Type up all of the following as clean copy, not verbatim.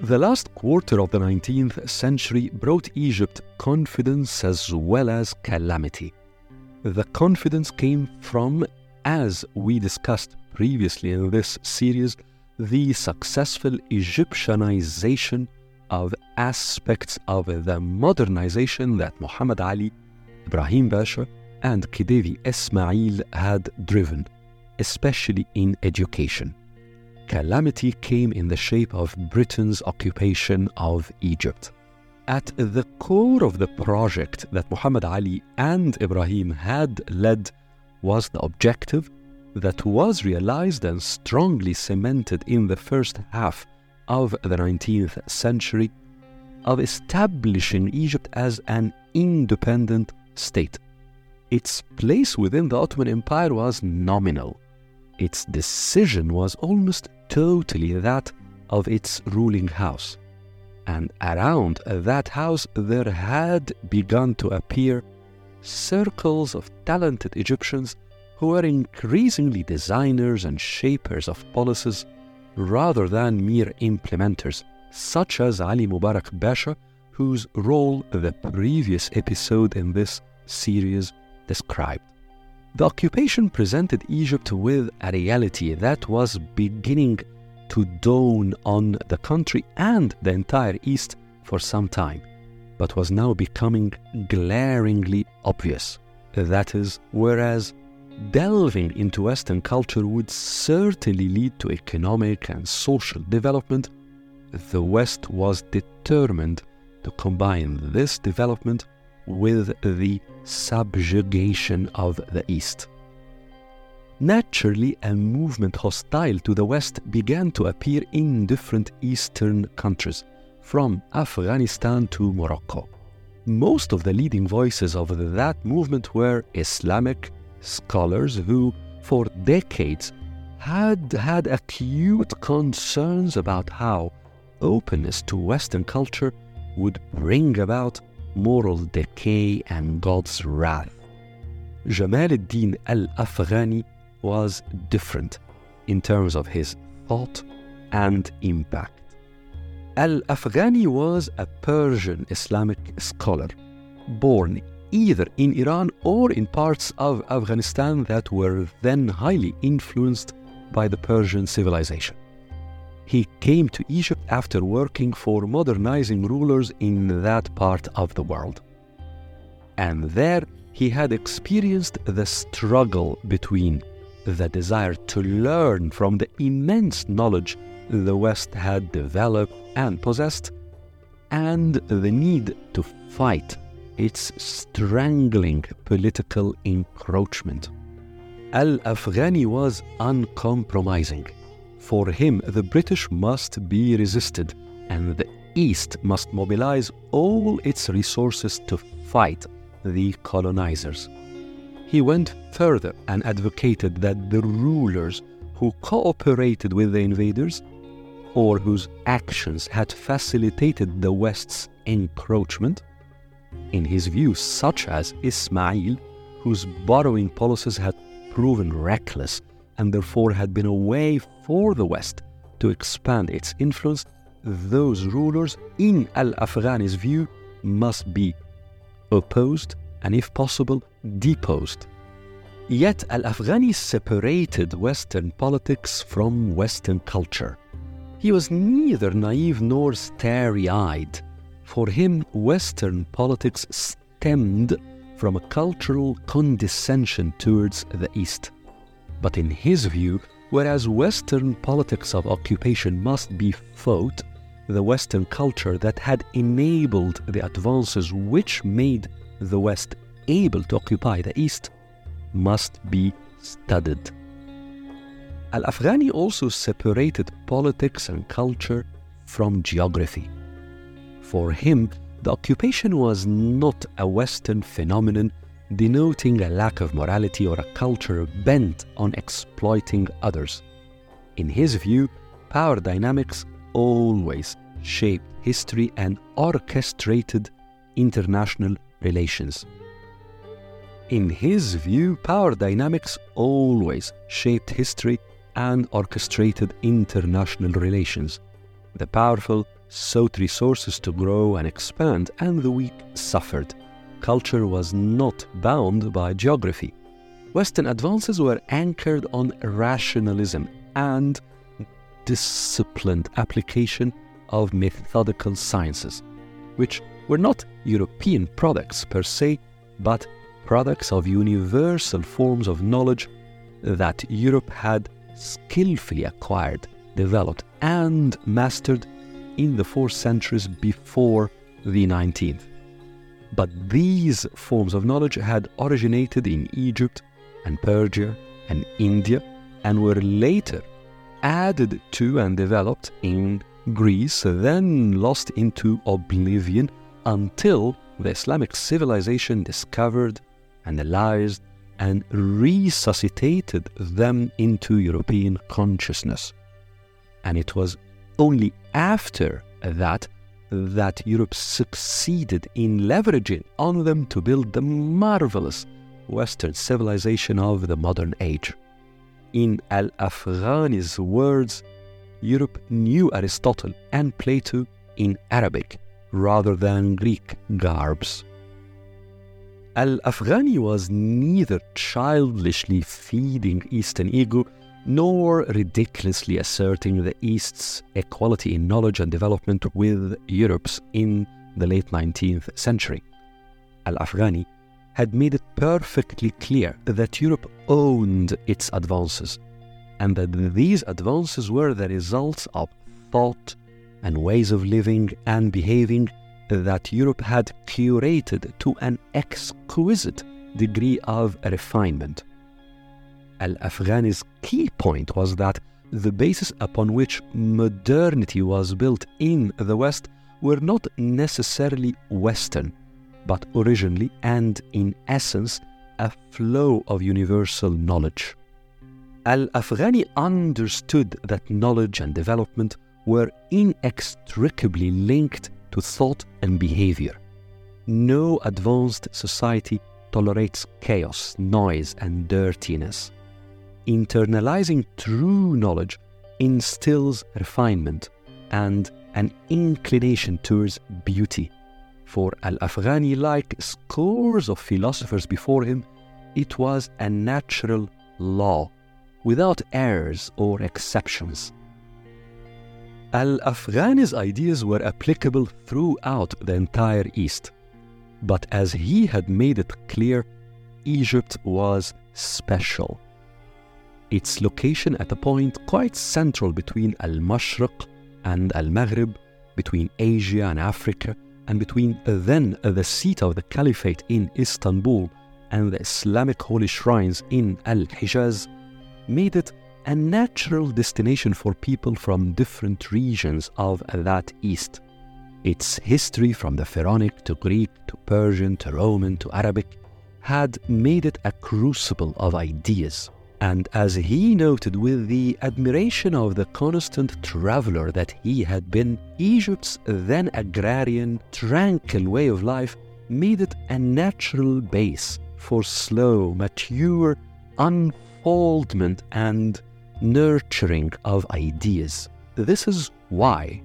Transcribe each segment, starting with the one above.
The last quarter of the 19th century brought Egypt confidence as well as calamity. The confidence came from, as we discussed previously in this series, the successful Egyptianization of aspects of the modernization that Muhammad Ali, Ibrahim Pasha, and Khedive Ismail had driven, especially in education. Calamity came in the shape of Britain's occupation of Egypt. At the core of the project that Muhammad Ali and Ibrahim had led was the objective that was realized and strongly cemented in the first half of the 19th century of establishing Egypt as an independent state. Its place within the Ottoman Empire was nominal. Its decision was almost totally that of its ruling house. And around that house there had begun to appear circles of talented Egyptians who were increasingly designers and shapers of policies rather than mere implementers, such as Ali Mubarak Pasha, whose role the previous episode in this series described. The occupation presented Egypt with a reality that was beginning to dawn on the country and the entire East for some time, but was now becoming glaringly obvious. That is, whereas delving into Western culture would certainly lead to economic and social development, the West was determined to combine this development with the subjugation of the East. Naturally, a movement hostile to the West began to appear in different Eastern countries, from Afghanistan to Morocco. Most of the leading voices of that movement were Islamic scholars who, for decades, had acute concerns about how openness to Western culture would bring about moral decay and God's wrath. Jamal ad-Din al-Afghani was different in terms of his thought and impact. Al-Afghani was a Persian Islamic scholar, born either in Iran or in parts of Afghanistan that were then highly influenced by the Persian civilization. He came to Egypt after working for modernizing rulers in that part of the world. And there he had experienced the struggle between the desire to learn from the immense knowledge the West had developed and possessed, and the need to fight its strangling political encroachment. Al-Afghani was uncompromising. For him, the British must be resisted, and the East must mobilize all its resources to fight the colonizers. He went further and advocated that the rulers who cooperated with the invaders, or whose actions had facilitated the West's encroachment, in his view, such as Ismail, whose borrowing policies had proven reckless and therefore had been a way for the West to expand its influence, those rulers, in Al-Afghani's view, must be opposed and, if possible, deposed. Yet Al-Afghani separated Western politics from Western culture. He was neither naive nor starry-eyed. For him, Western politics stemmed from a cultural condescension towards the East. But in his view, whereas Western politics of occupation must be fought, the Western culture that had enabled the advances which made the West able to occupy the East must be studied. Al-Afghani also separated politics and culture from geography. For him, the occupation was not a Western phenomenon denoting a lack of morality or a culture bent on exploiting others. In his view, power dynamics always shaped history and orchestrated international relations. In his view, power dynamics always shaped history and orchestrated international relations. The powerful sought resources to grow and expand, and the weak suffered. Culture was not bound by geography. Western advances were anchored on rationalism and disciplined application of methodical sciences, which were not European products per se, but products of universal forms of knowledge that Europe had skillfully acquired, developed, and mastered in the 4 centuries before the 19th. But these forms of knowledge had originated in Egypt and Persia and India, and were later added to and developed in Greece, then lost into oblivion until the Islamic civilization discovered, analyzed, and resuscitated them into European consciousness. And it was only after that Europe succeeded in leveraging on them to build the marvelous Western civilization of the modern age. In Al-Afghani's words, Europe knew Aristotle and Plato in Arabic rather than Greek garbs. Al-Afghani was neither childishly feeding Eastern ego nor ridiculously asserting the East's equality in knowledge and development with Europe's in the late 19th century. Al-Afghani had made it perfectly clear that Europe owned its advances, and that these advances were the results of thought and ways of living and behaving that Europe had curated to an exquisite degree of refinement. Al-Afghani's key point was that the basis upon which modernity was built in the West were not necessarily Western, but originally and in essence a flow of universal knowledge. Al-Afghani understood that knowledge and development were inextricably linked to thought and behavior. No advanced society tolerates chaos, noise, and dirtiness. Internalizing true knowledge instills refinement and an inclination towards beauty. For Al-Afghani, like scores of philosophers before him, it was a natural law, without errors or exceptions. Al-Afghani's ideas were applicable throughout the entire East, but as he had made it clear, Egypt was special. Its location at a point quite central between Al-Mashriq and Al-Maghrib, between Asia and Africa, and between then the seat of the Caliphate in Istanbul and the Islamic holy shrines in Al-Hijaz, made it a natural destination for people from different regions of that East. Its history from the Pharaonic to Greek to Persian to Roman to Arabic had made it a crucible of ideas. And as he noted with the admiration of the constant traveler that he had been, Egypt's then agrarian, tranquil way of life made it a natural base for slow, mature unfoldment and nurturing of ideas. This was why,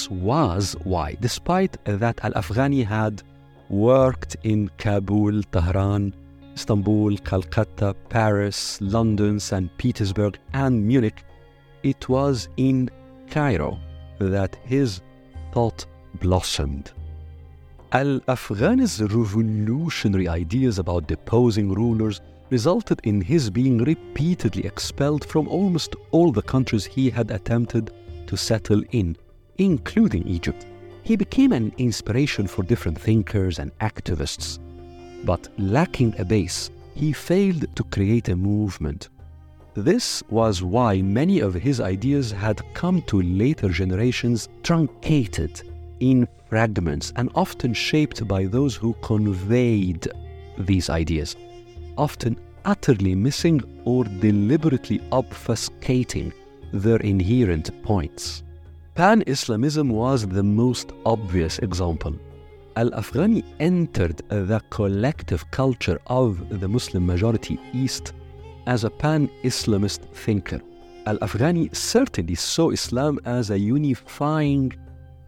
despite that Al-Afghani had worked in Kabul, Tehran, Istanbul, Calcutta, Paris, London, St. Petersburg, and Munich, it was in Cairo that his thought blossomed. Al-Afghani's revolutionary ideas about deposing rulers resulted in his being repeatedly expelled from almost all the countries he had attempted to settle in, including Egypt. He became an inspiration for different thinkers and activists, but lacking a base, he failed to create a movement. This was why many of his ideas had come to later generations truncated in fragments and often shaped by those who conveyed these ideas, often utterly missing or deliberately obfuscating their inherent points. Pan-Islamism was the most obvious example. Al-Afghani entered the collective culture of the Muslim majority East as a pan-Islamist thinker. Al-Afghani certainly saw Islam as a unifying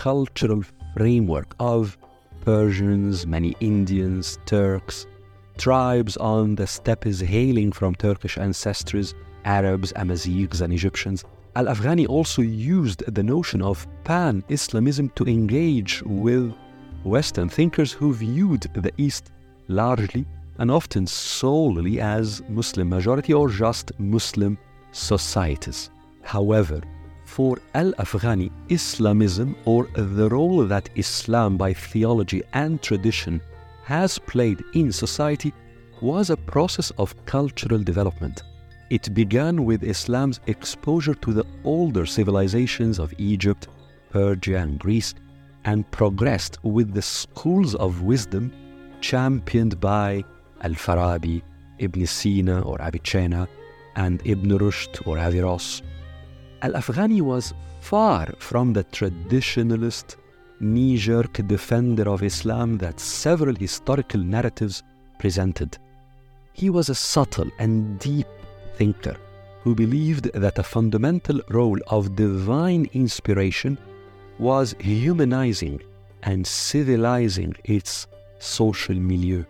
cultural framework of Persians, many Indians, Turks, tribes on the steppes hailing from Turkish ancestors, Arabs, Amazighs, and Egyptians. Al-Afghani also used the notion of pan-Islamism to engage with Western thinkers who viewed the East largely and often solely as Muslim majority or just Muslim societies. However, for Al-Afghani, Islamism, or the role that Islam by theology and tradition has played in society, was a process of cultural development. It began with Islam's exposure to the older civilizations of Egypt, Persia, and Greece, and progressed with the schools of wisdom championed by Al-Farabi, Ibn Sina or Avicenna, and Ibn Rushd or Averroes. Al-Afghani was far from the traditionalist, knee-jerk defender of Islam that several historical narratives presented. He was a subtle and deep thinker who believed that a fundamental role of divine inspiration was humanizing and civilizing its social milieu.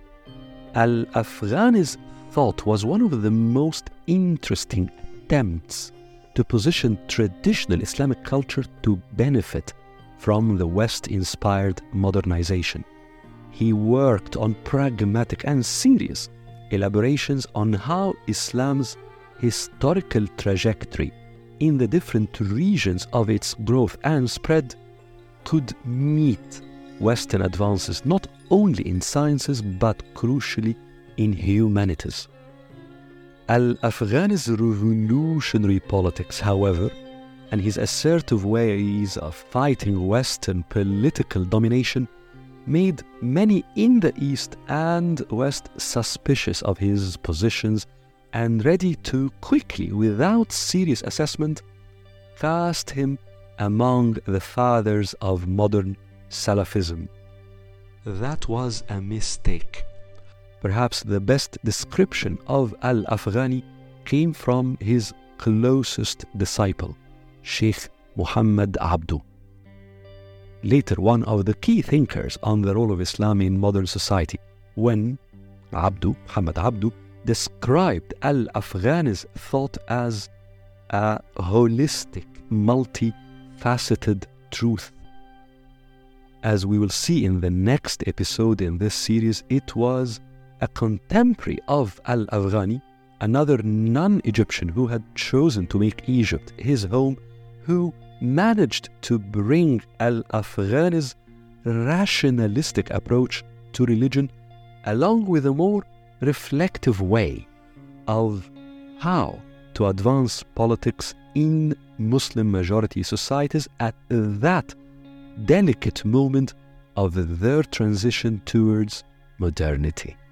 Al-Afghani's thought was one of the most interesting attempts to position traditional Islamic culture to benefit from the West-inspired modernization. He worked on pragmatic and serious elaborations on how Islam's historical trajectory in the different regions of its growth and spread could meet Western advances not only in sciences but crucially in humanities. Al-Afghani's revolutionary politics, however, and his assertive ways of fighting Western political domination made many in the East and West suspicious of his positions and ready to quickly, without serious assessment, cast him among the fathers of modern Salafism. That was a mistake. Perhaps the best description of Al-Afghani came from his closest disciple, Sheikh Muhammad Abdu. Later, one of the key thinkers on the role of Islam in modern society, when Muhammad Abdu, described Al-Afghani's thought as a holistic, multifaceted truth. As we will see in the next episode in this series, it was a contemporary of Al-Afghani, another non-Egyptian who had chosen to make Egypt his home, who managed to bring Al-Afghani's rationalistic approach to religion along with a more reflective way of how to advance politics in Muslim-majority societies at that delicate moment of their transition towards modernity.